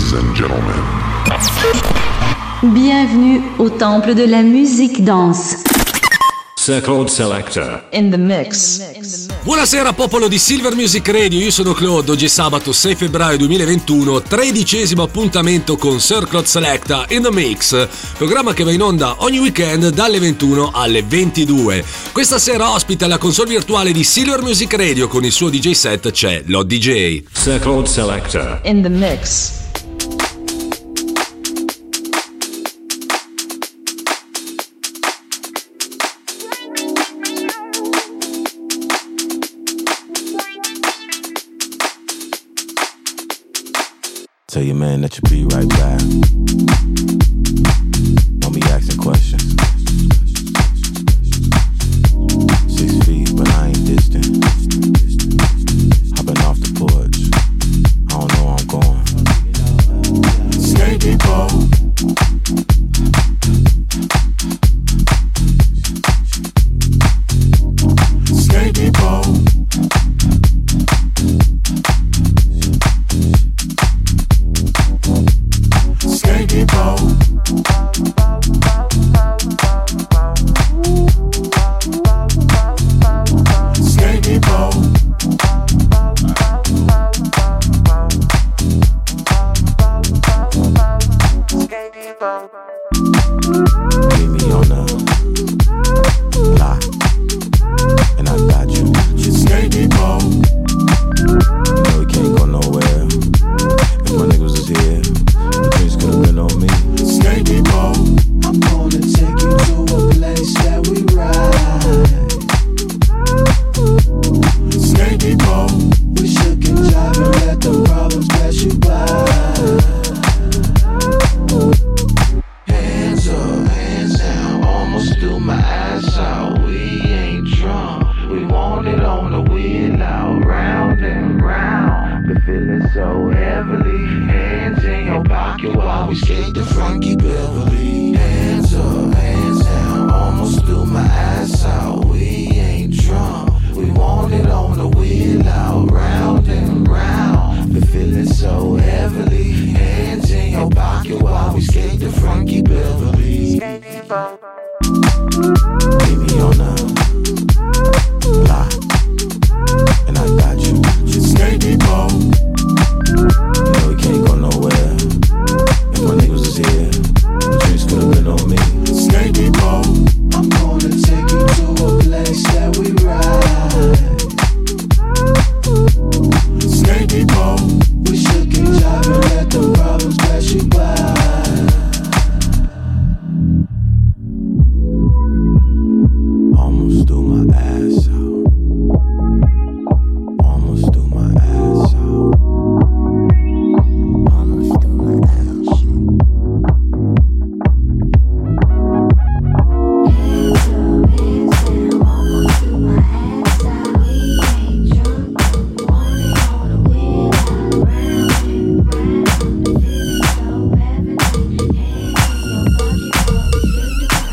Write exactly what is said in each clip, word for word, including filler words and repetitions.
Ladies and gentlemen. Bienvenue au temple de la musique danse. Circle Selector In the mix. Buonasera popolo di Silver Music Radio, io sono Claude. Oggi è sabato sei febbraio duemilaventuno, tredicesimo appuntamento con Circle Selector in the Mix, programma che va in onda ogni weekend dalle ventuno alle ventidue. Questa sera ospita la console virtuale di Silver Music Radio, con il suo D J set c'è Lo D J. Circle Selector In the mix. Tell your man that you'll be right back. Don't be asking questions. Six feet, but I ain't distant. Hopping off the porch. I don't know where I'm going. Skate people. Skate people. Skate people. Skate people. Meet me on the block, and I got you. Skate people. You know we can't go nowhere. If my niggas was here, the drinks could've been on me. Skate people. I'm gonna take you to a place that we ride. Skate people. We should get jive and let the problems pass you by. Hands up, hands down, almost threw my ass out. We ain't drunk, we want it on the wheel out, round and round. Been feeling so heavily. Hands in your pocket while we skate the Frankie Beverly. Hands up, hands down, almost threw my ass out. We ain't drunk, we want it on the wheel out, round and round. Been feeling so heavily. Hands in your pocket while we skate the Frankie Beverly. Meet me on the block, and I got you. Skate people. You know we can't go nowhere. If my niggas was here, the drinks could've been on me. Skate people. I'm gonna take you to a place that we ride. Skate people. We should get jive and let the problems pass you by. Almost threw my ass out. Almost threw my ass out. Almost threw my ass out. Hands up, hands down, almost threw my ass out. We ain't drunk, want it on the wheel out, round and round. The feeling so heavenly. Hands in your pocket, but we skate the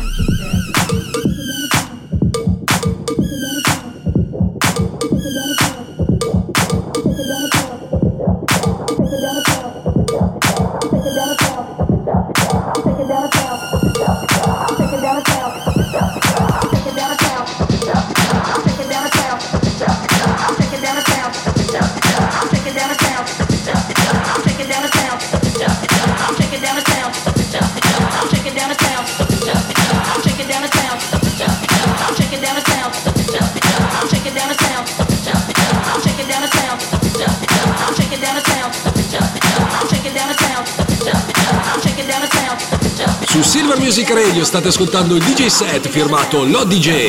Su Silver Music Radio state ascoltando il D J set firmato Lo D J.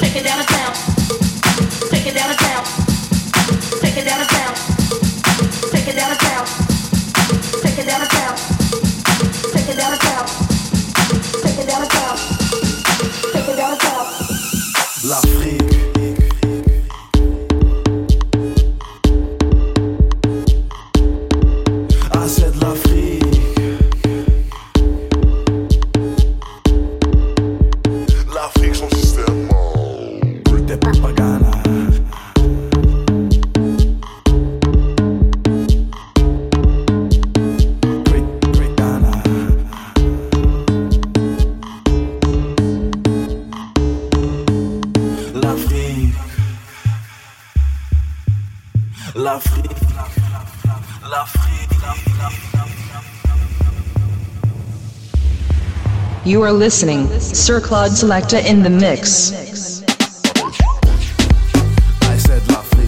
You are listening, Sir Claude Selecta in the mix. I said l'Afrique.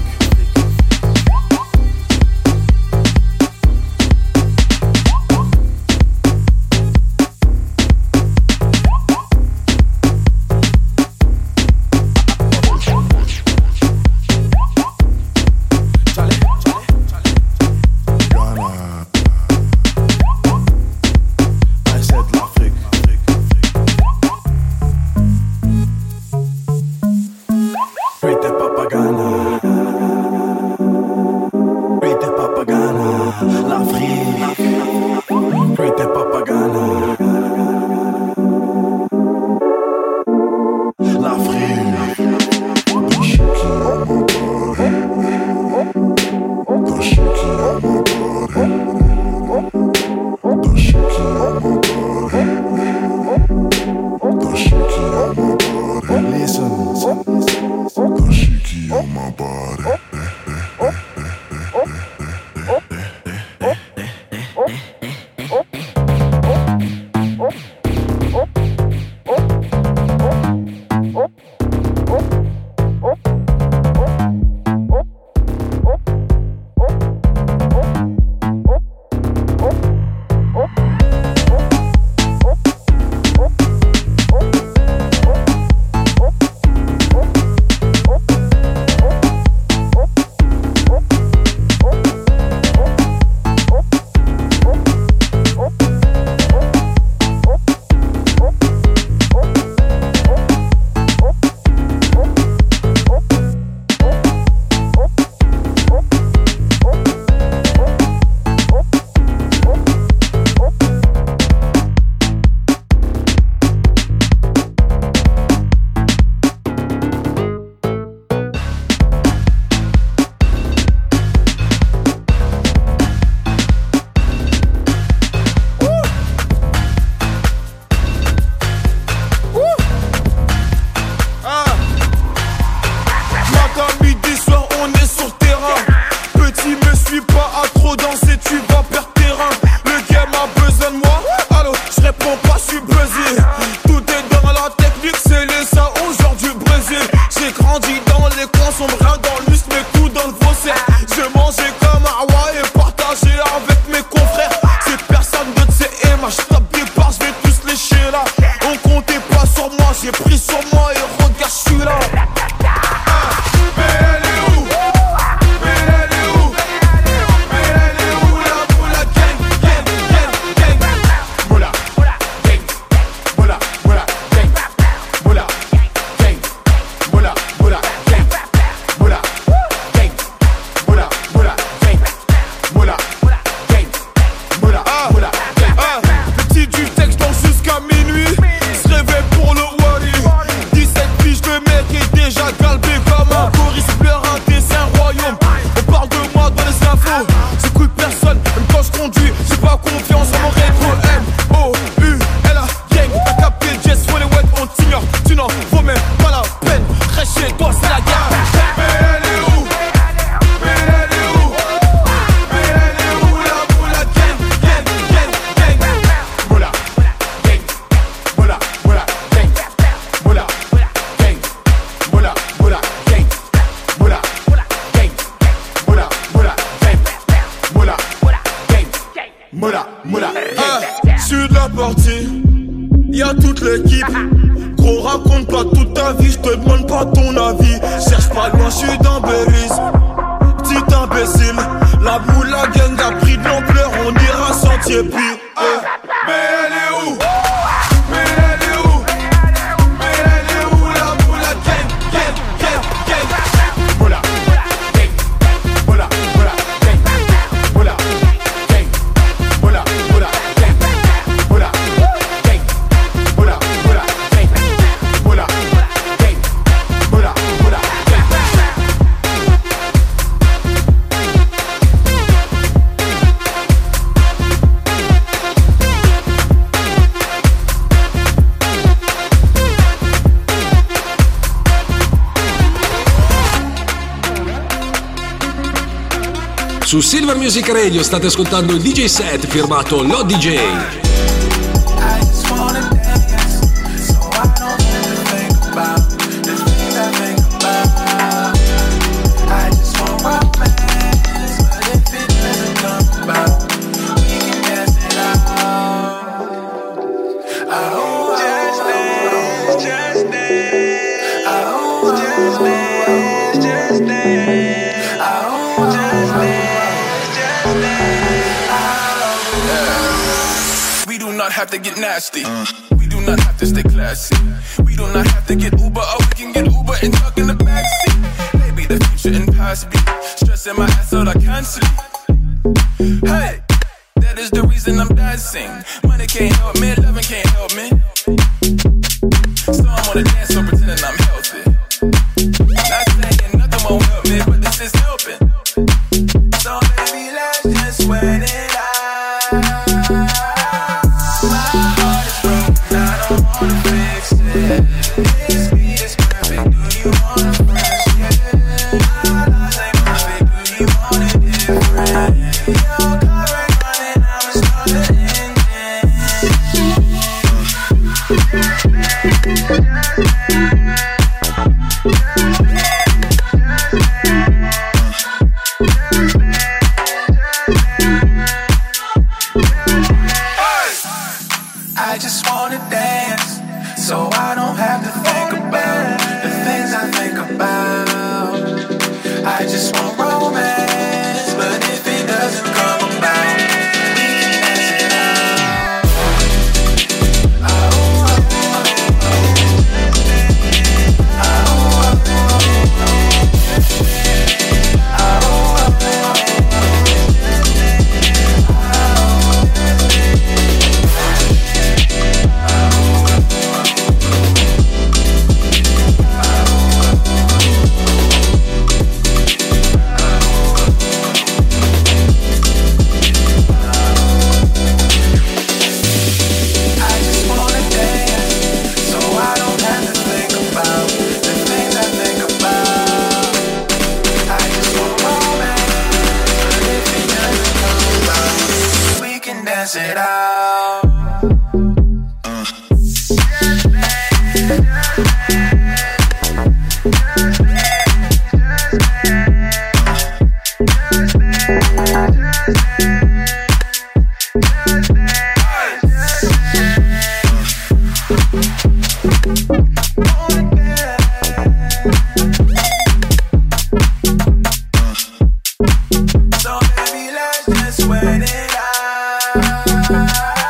Make it j'suis dans Belize. Petit imbécile, la boule, la gang a pris de l'ampleur, on ira sentier pire. Hey. Mais elle est où? Mais elle est où? Mais elle est où la boule, la gang, gang, gang, gang? Boula, gang, boula, boula, gang, boula, gang, boula, boula, gang, boula, gang, boula, boula, gang, boula, gang, boula, boula, gang. Su Silver Music Radio state ascoltando il D J set firmato Lo D J. Have to get nasty. We do not have to stay classy. We do not have to get Uber, or we can get Uber and tuck in the backseat. Maybe the future and past be stressing my ass out, I can't sleep. Hey, that is the reason I'm dancing. Money can't help me, loving can't help me. So I'm on the dance floor pretending I'm healthy. Not saying nothing won't help me, but this is helping. So baby, let's just sweat it out. I just wanna dance, so I don't have to think about the things I think about. I just want romance, but if it doesn't come about, we can dance it out. Oh, oh, oh, dance it out. So baby, let's just sweat it out.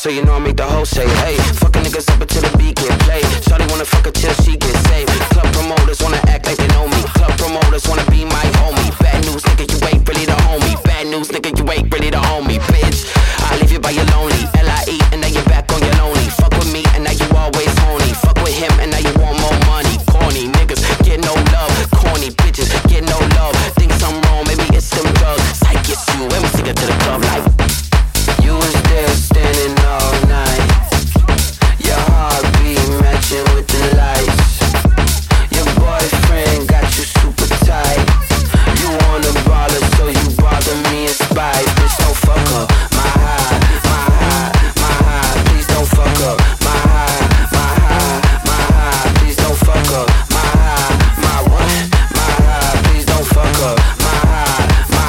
so you know I make the whole say, hey, fucking niggas up until the beat get played. Shawty wanna fuck her till she get saved. Club promoters wanna act like they know me. Club promoters wanna be my homie. Bad news, nigga, you ain't really the homie. Bad news, nigga, you ain't really the homie, bitch. I leave you by your lonely. L I E, and now you're back on your lonely. Fuck with me, and now you always horny. Fuck with him, and now you want more money. Corny niggas, get no love. Corny bitches, get no love. Think something wrong, maybe it's them drugs. Psych, it's you, and we stick it to the club like you was there standing all night. Your heartbeat matching with the lights. Your boyfriend got you super tight. You wanna baller, so you bother me in spite. Bitch, don't fuck up my high, my high, my high. Please don't fuck up my high, my high, my high. Please don't fuck up my high, my what? My high. Please don't fuck up my high, my.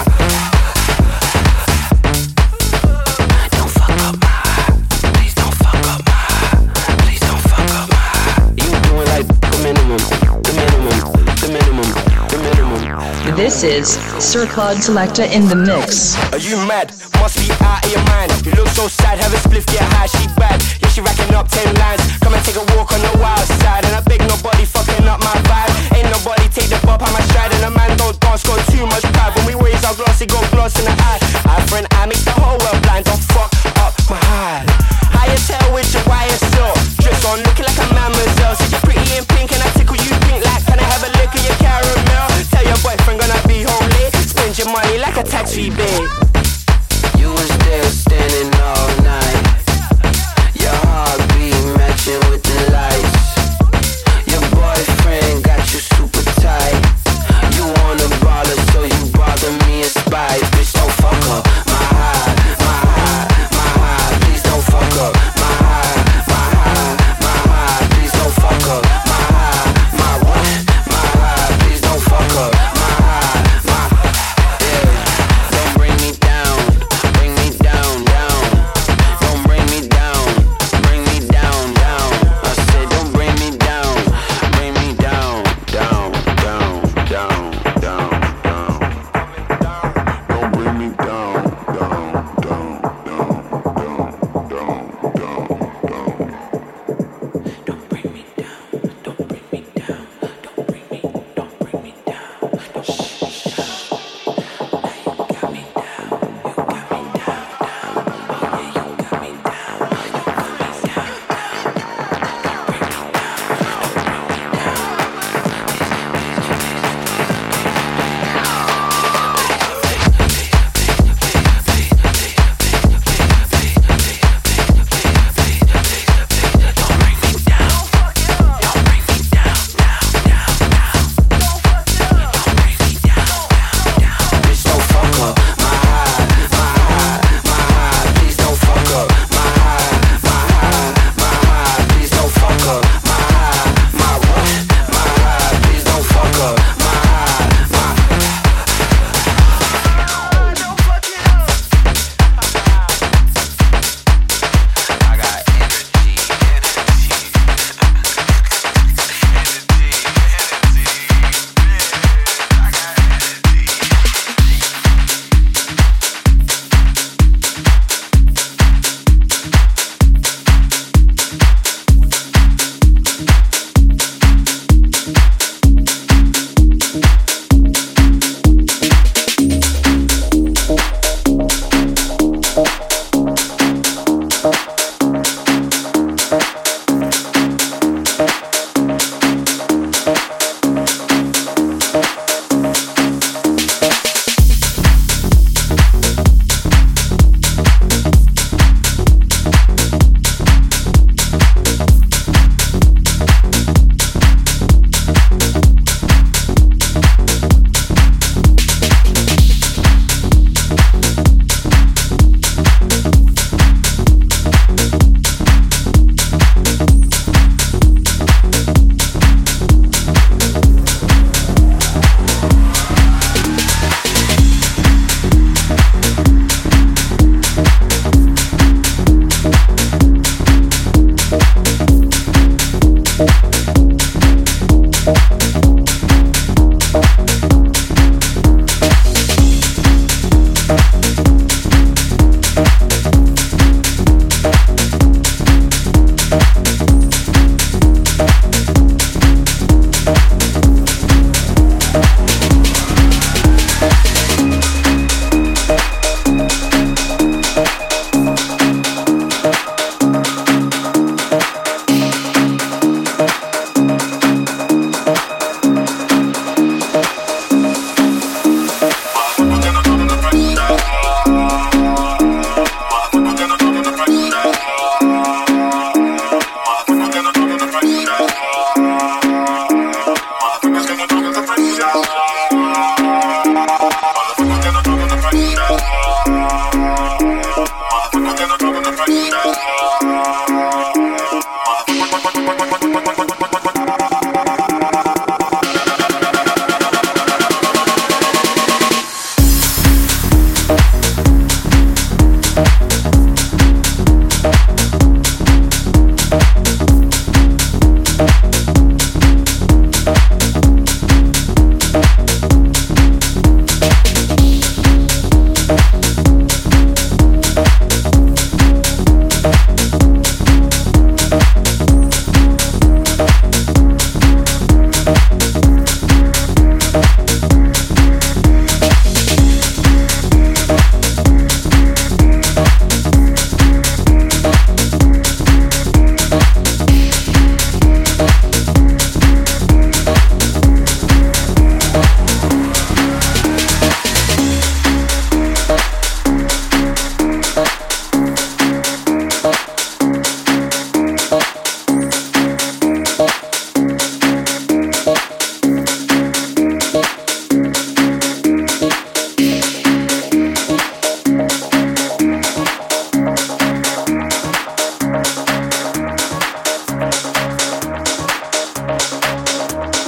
Don't fuck up my high. Please don't fuck up my high. Please don't fuck up my high. You doing like the minimum, the minimum, the minimum, the minimum. This is Sir Claude Selecta in the mix. Are you mad? Must be out of your mind. You look so sad, have a spliff, get high, she bad. Yeah, she racking up ten lines. Come and take a walk on the wild side. And I beg nobody fucking up my vibe. Ain't nobody take the bop on my stride. And a man don't dance, got too much pride. When we raise our glass, it got gloss in the eye. Eye for an eye makes the whole world blind. Don't fuck up my high. Higher tail with your wire silk. Dress on, looking like a mademoiselle. See you pretty in pink and I tickle you pink like, can I have a lick of your caramel? Tell your boyfriend gonna be home late. Spend your money like a tax rebate. You was there standing all night. Your heartbeat matching with the lights. Your boyfriend got you super tight. You wanna baller, so you bother me in spite. Bitch, don't fuck up my high, my high, my high. Please don't fuck up my high, my high, my high. Please don't fuck up my high, my what? My high. Please don't fuck up my high, my. Yeah, don't bring me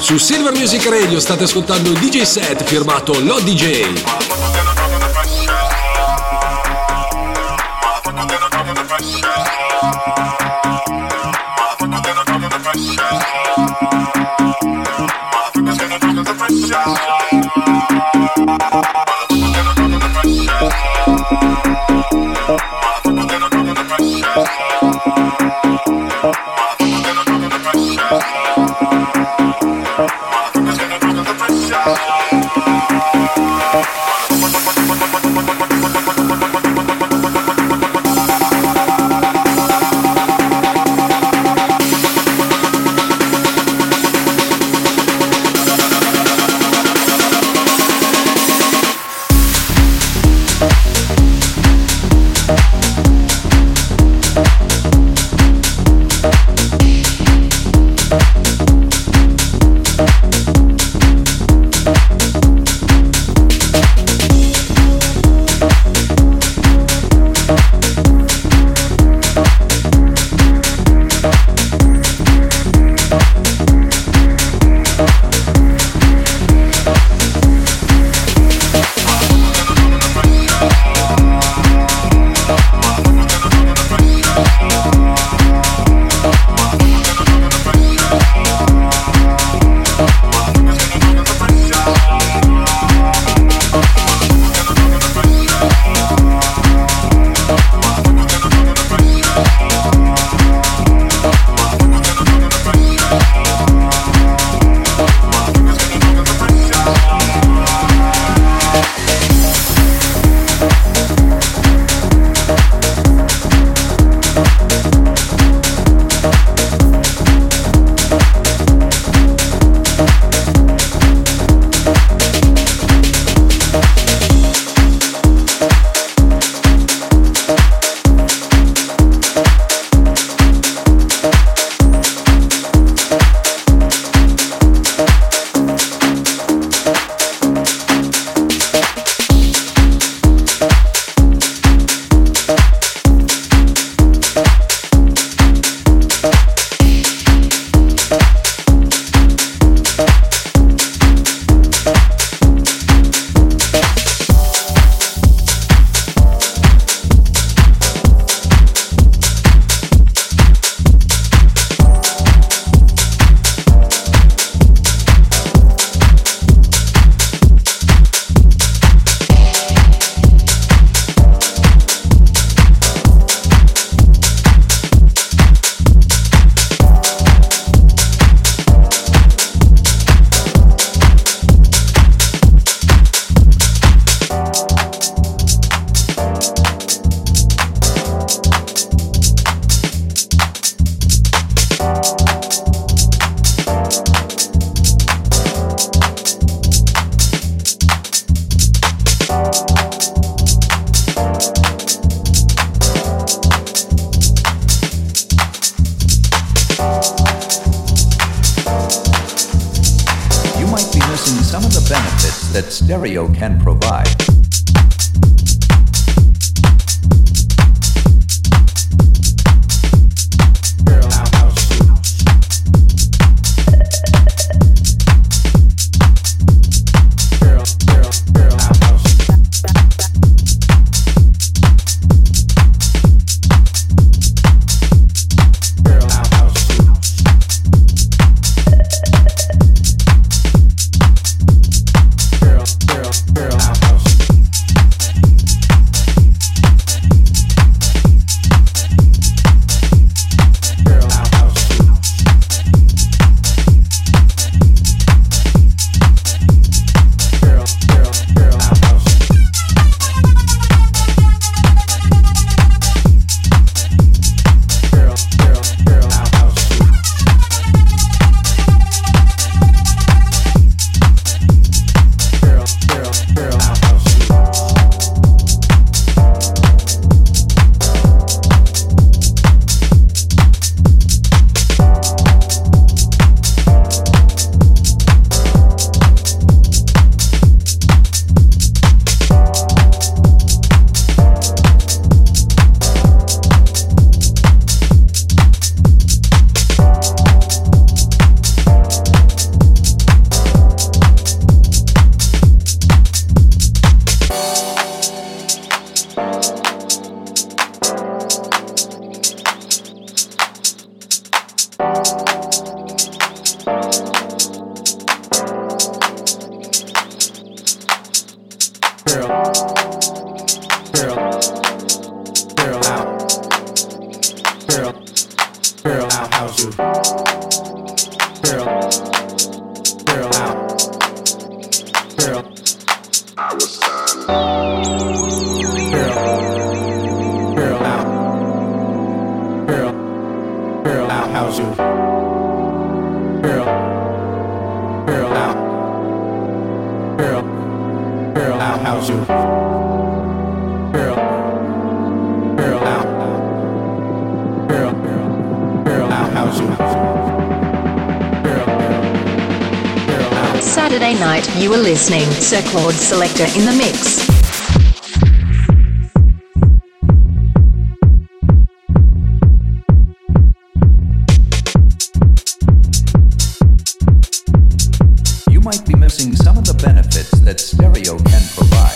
Su Silver Music Radio state ascoltando il D J set firmato Lo D J. That stereo can provide. Girl, girl, girl, house. Saturday night, you were listening Sir Claude Selector in the mix. You might be missing some of the benefits that stereo can provide.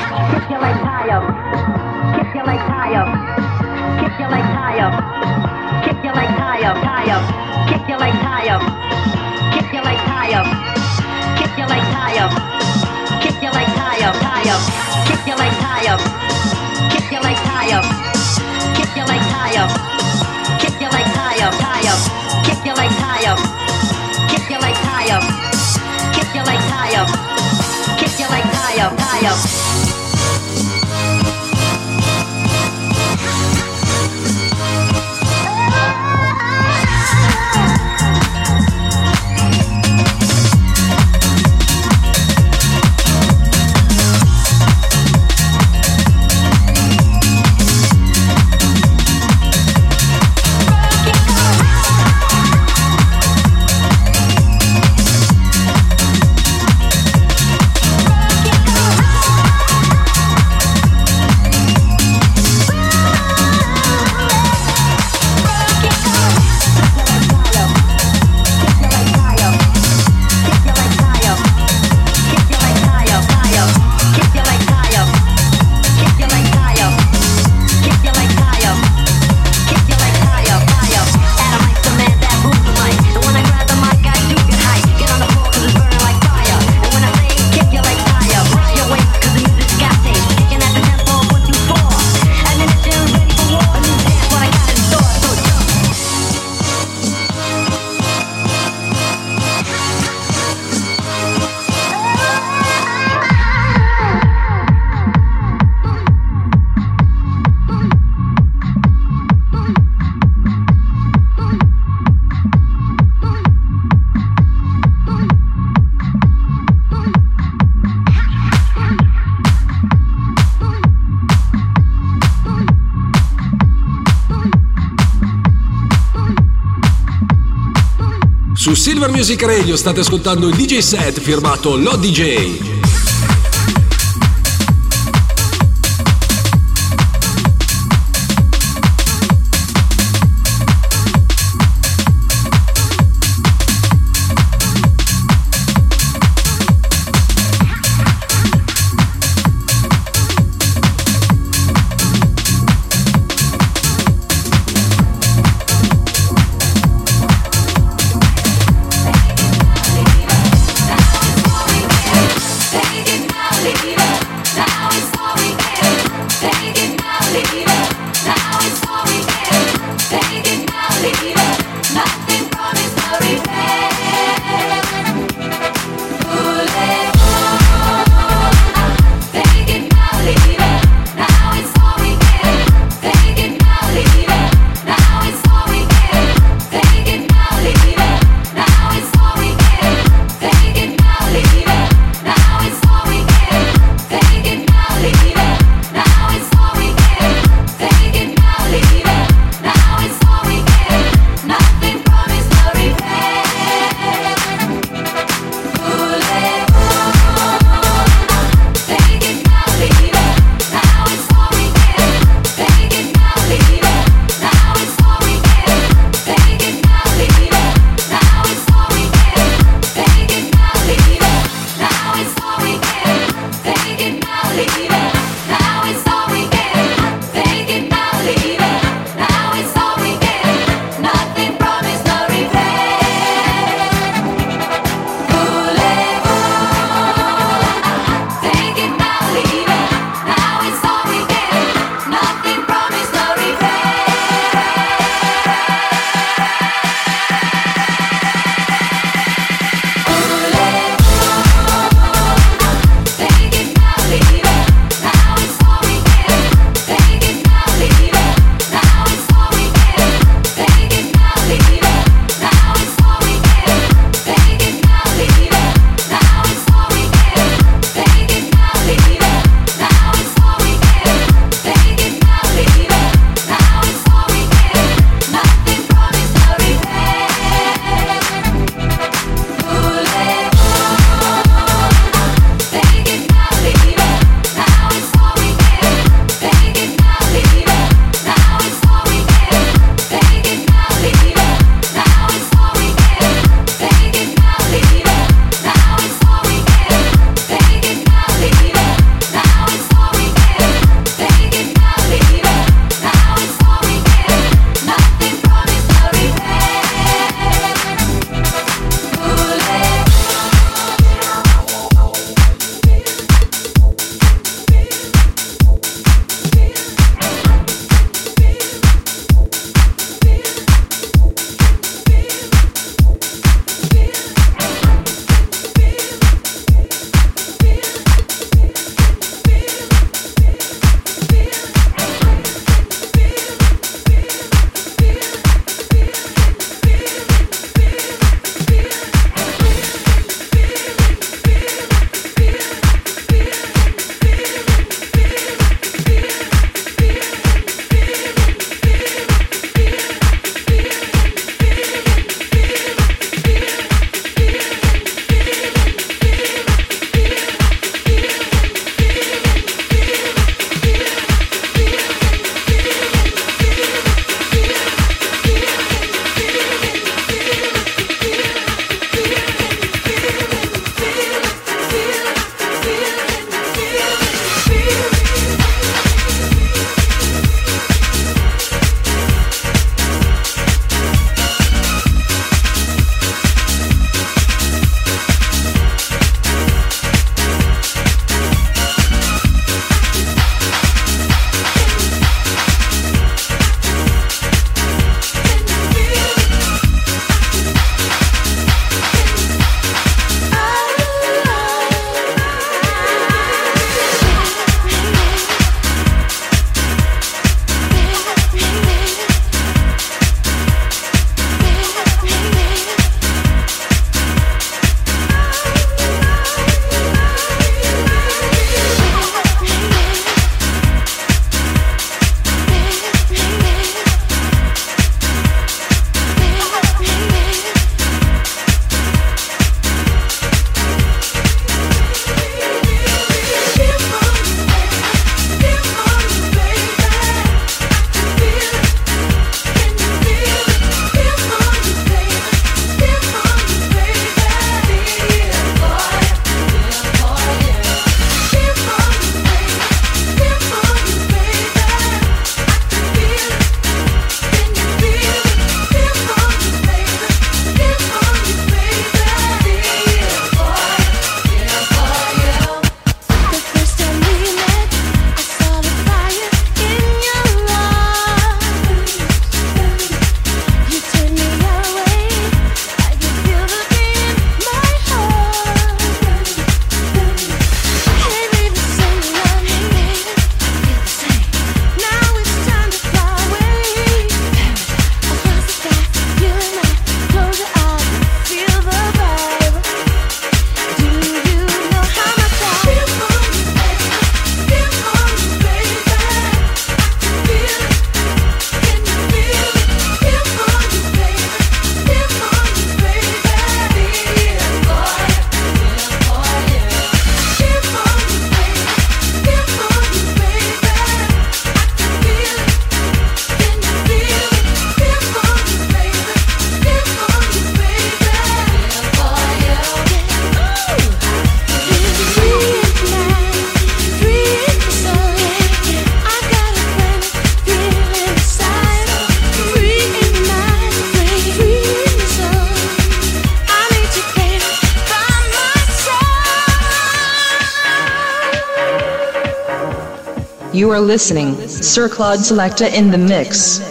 Kick your legs high up. Kick your legs high up. Kick your legs high up. Kick your legs high up, high up. Kick your legs high up. Kick your legs high up. Kick your legs high up. Kick your legs high up, high up. Kick your legs high up. Kick your legs high up. Kick your legs high up. Kick your legs high up, high up. Kick your legs high up. Kick your legs high up. Kick your legs high up. Kick your legs high up, high up. Su Silver Music Radio state ascoltando il D J set firmato Lo D J. You are listening, Sir Claude Selecta in the mix.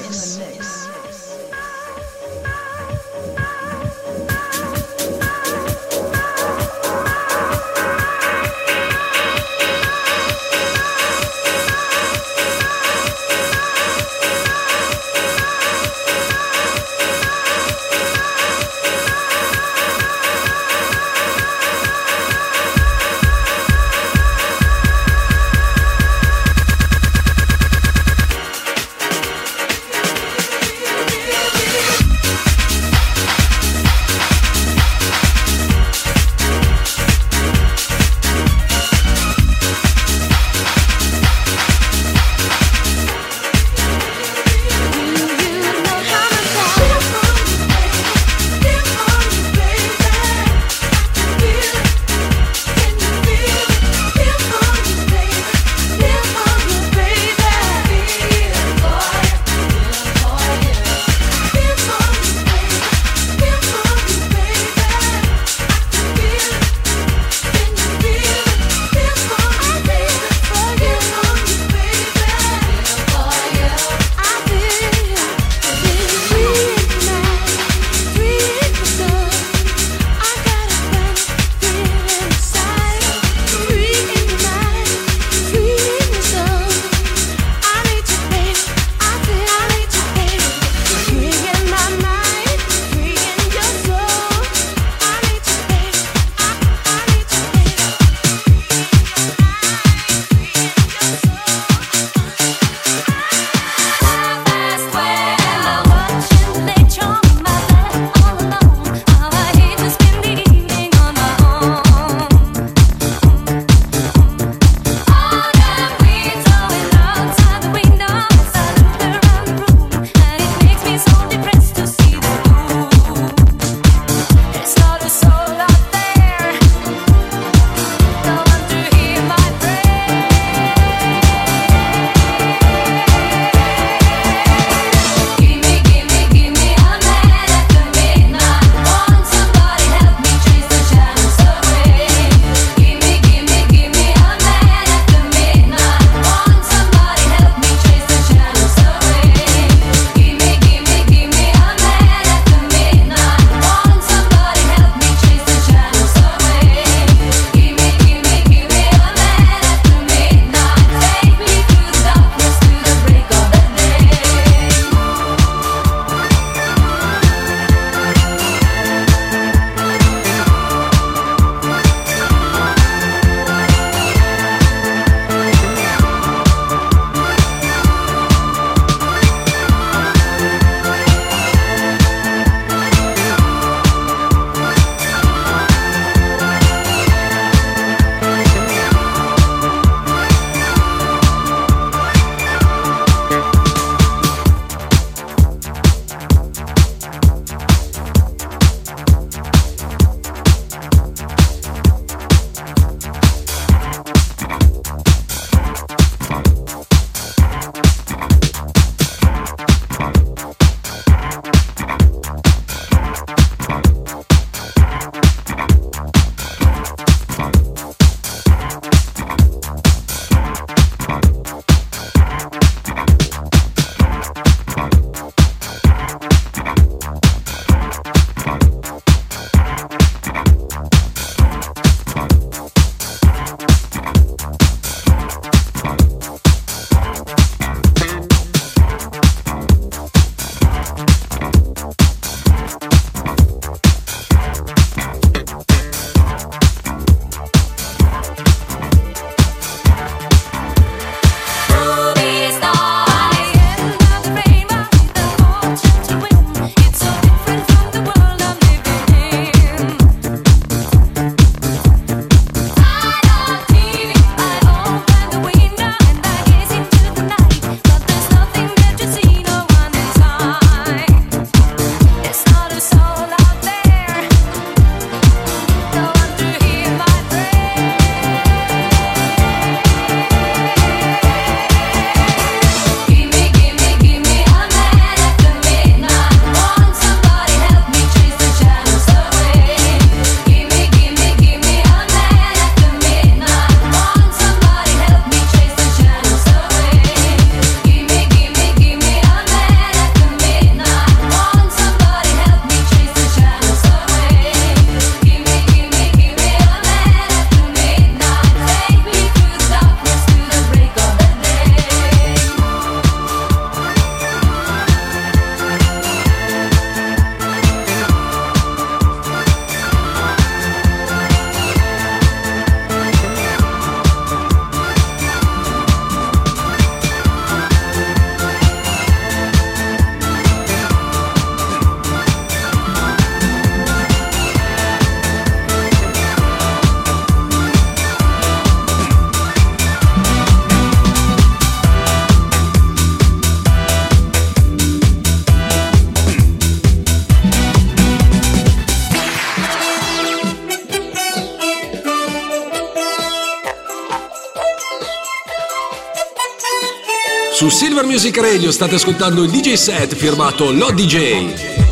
Su Silver Music Radio state ascoltando il D J set firmato Lo D J.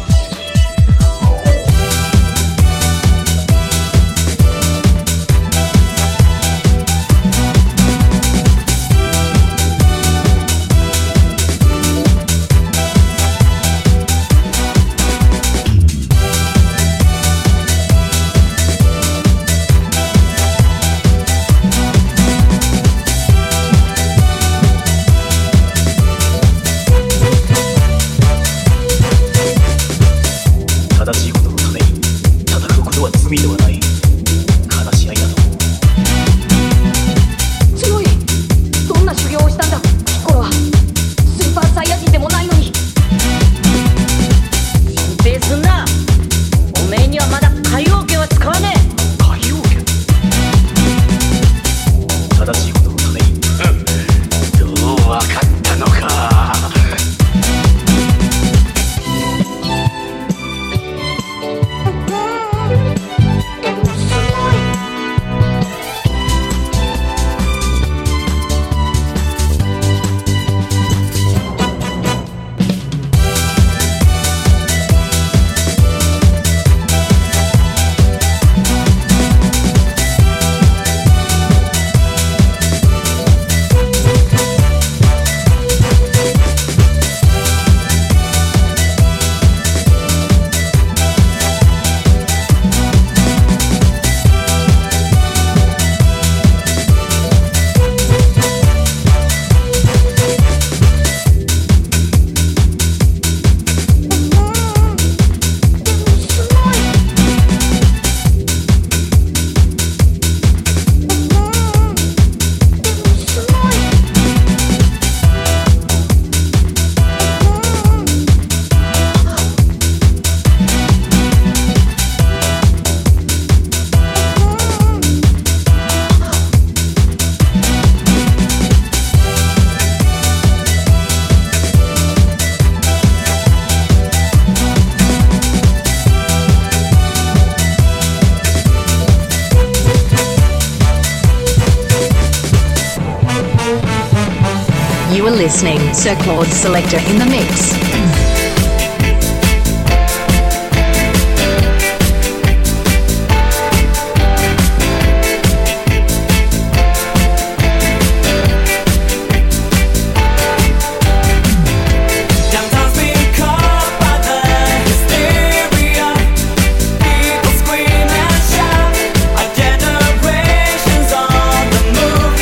You are listening Sir Claude Selector in the mix.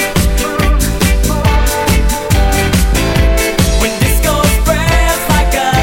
When disco spreads like a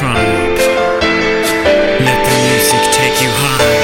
triumph. Let the music take you high.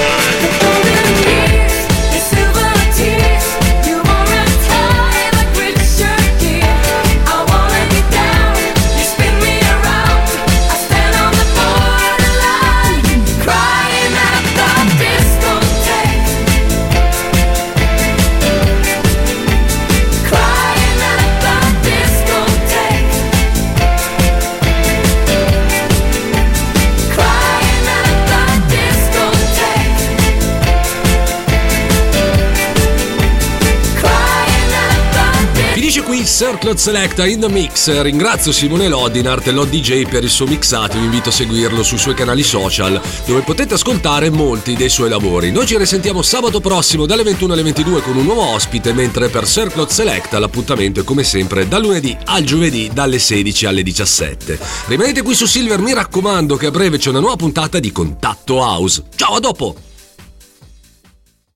Circlot Selecta in the Mix. Ringrazio Simone Lodinart e Lod D J per il suo mixato. Vi invito a seguirlo sui suoi canali social, dove potete ascoltare molti dei suoi lavori. Noi ci risentiamo sabato prossimo dalle ventuno alle ventidue con un nuovo ospite, mentre per Circlot Selecta l'appuntamento è come sempre dal lunedì al giovedì dalle sedici alle diciassette. Rimanete qui su Silver, mi raccomando che a breve c'è una nuova puntata di Contatto House. Ciao, a dopo!